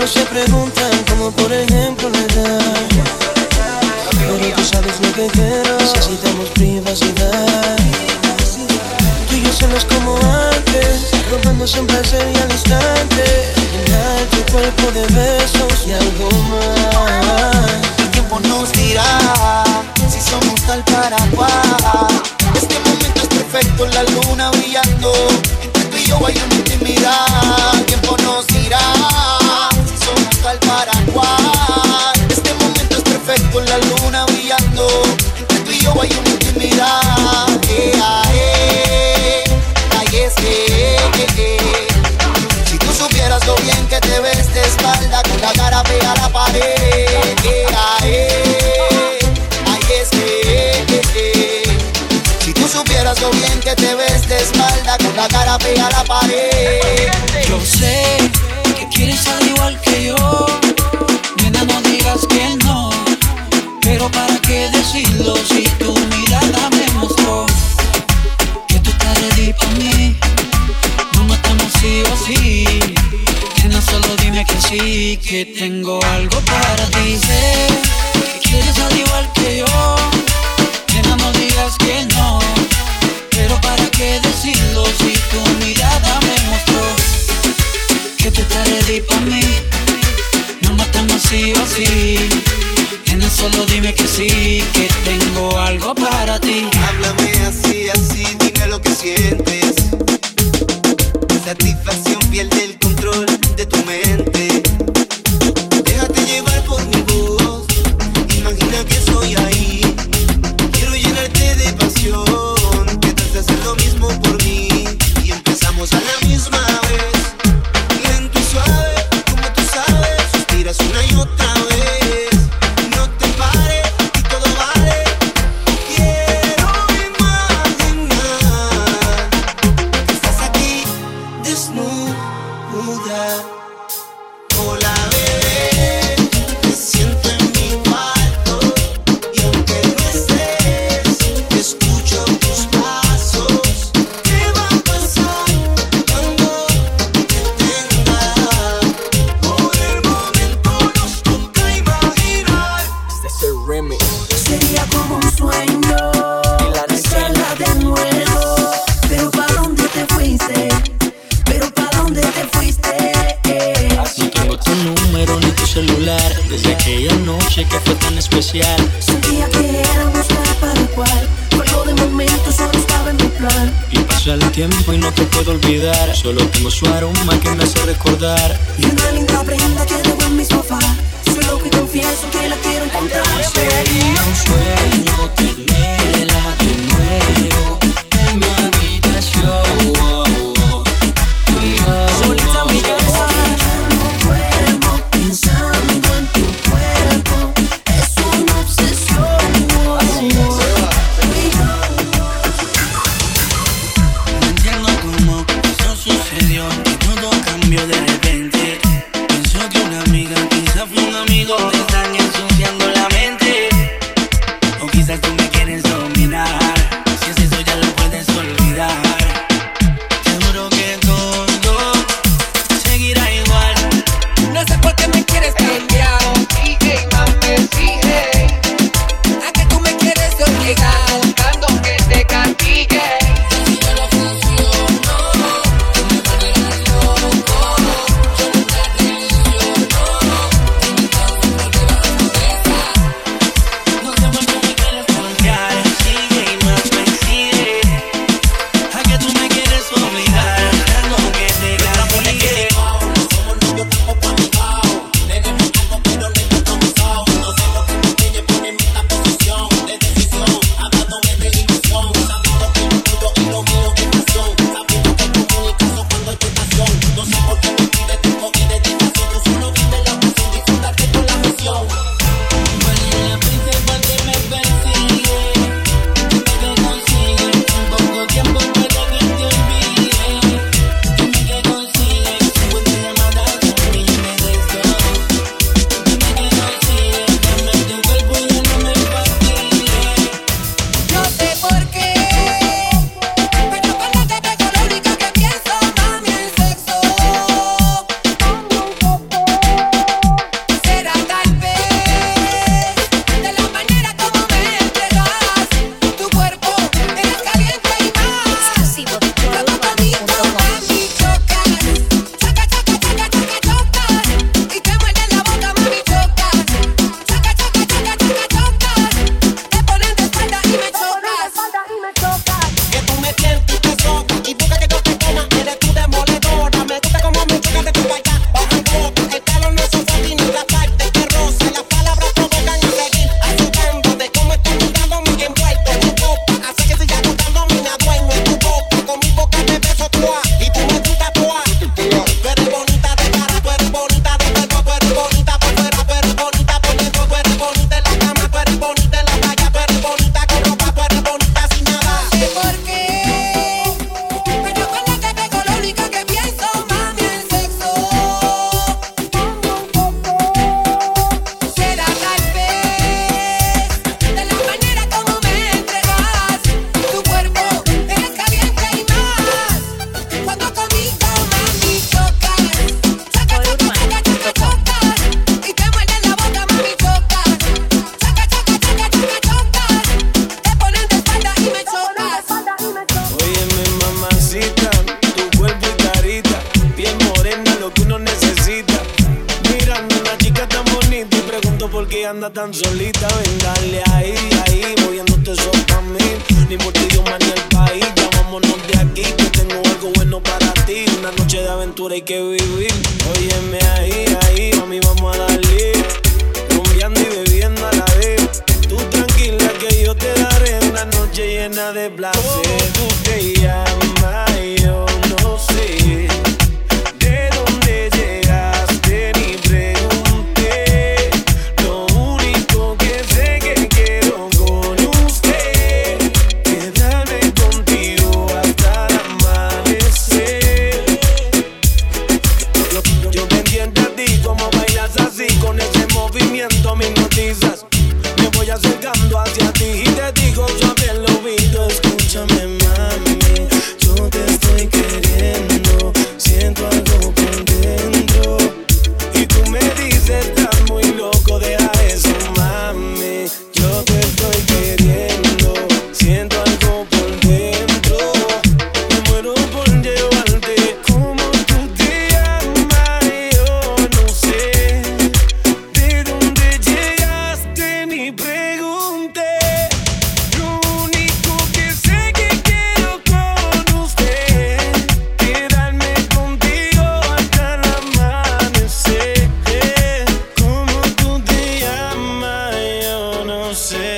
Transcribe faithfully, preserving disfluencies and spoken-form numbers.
Todos se preguntan como por ejemplo la edad, pero tú sabes lo que quiero. Necesitamos privacidad. Tú y yo solos como antes, robándose un placer y al instante llenar tu cuerpo de besos y algo más. El tiempo nos dirá si somos tal para cual. Este momento es perfecto, la luna brillando. Entre tú y yo hay una intimidad. El tiempo nos dirá si somos tal para cual. Este momento es perfecto, la luna brillando. Entre tú y yo hay una intimidad. Eh, ah, eh. Ay, es que eh, eh. Si tú supieras lo bien que te ves de espalda, con la cara pega a la pared. Eh, ah, eh. Ay, es que eh, eh. Si tú supieras lo bien que te ves de espalda, con la cara pega a la pared. Yo sé que quieres al igual que yo, nena, no digas que no. Pero para qué decirlo si tu mirada me mostró que tú estás ready pa' mí. No matamos sí o sí, nena, solo dime que sí, que tengo algo para ti. Sé que quieres al igual que yo, nena, no digas que no. Pero para qué decirlo si tu mirada me mostró que tú estás ready pa' mí. No matamos sí o sí, nena, solo dime que sí, que tengo algo para ti. Háblame así, así, dime lo que sientes. Satisfacción, pierde el control de tu mente. Déjate llevar por mi voz, imagina que estoy ahí. Quiero llenarte de pasión, que tal de hacer lo mismo por mí. Y empezamos a la misma vez, lento y suave, como tú sabes. Suspiras una y otra vez, no te pares y todo vale. Quiero imaginar que estás aquí desnuda. Hola bebé, te siento en mi cuarto y aunque no estés, escucho tus pasos. ¿Qué va a pasar cuando te tenga? Por el momento nos toca imaginar. Este es el remix. Sería como un sueño hacerla de nuevo. Pero ¿para dónde te fuiste? Pero ¿para dónde te fuiste? No tengo tu número ni tu celular desde aquella noche que fue tan especial. Sentía que éramos cara para cual, pero de momento solo estaba en mi plan. Y pasa el tiempo y no te puedo olvidar, solo tengo su aroma que me hace recordar. Y una linda prenda que debo en mi sofá, solo que confieso que la quiero encontrar. Sería un sueño tenerla de nuevo en mi habitación. Solita en mi casa. Pensando en tu cuerpo, es una obsesión. No entiendo cómo eso sucedió, que todo cambió de repente. Pienso que una amiga quizá fue un amigo, te están ensuciando la mente. anda tan solita, ven, dale ahí, ahí, moviéndote eso pa' mí. Ni por ti, Dios, ni el país, ya vámonos de aquí, que tengo algo bueno para ti. Una noche de aventura hay que vivir. Óyeme ahí, ahí, mami, vamos a darle. Rumbeando y bebiendo a la vez. Tú tranquila que yo te daré una noche llena de placer. Tú te llamas, yo no sé. ¿De dónde llegaste? Ni pregunté. Lo único que sé que quiero con usted quedarme contigo hasta el amanecer. Yo, yo pendiente a ti, como bailas así, con ese movimiento me hipnotizas. Me voy acercando hacia ti y te digo suave al oído, escúchame mami, yo te estoy queriendo, siento algo por dentro. Y tú me dices, estás muy loco, deja eso mami, yo te estoy queriendo, siento algo por dentro. Me muero por llevarte, como tú te llamas, yo no sé. ¿De dónde llegaste? Ni pregunté. Lo único que sé que quiero con usted quedarme contigo hasta el amanecer. ¿Cómo tú te llamas? Yo no sé.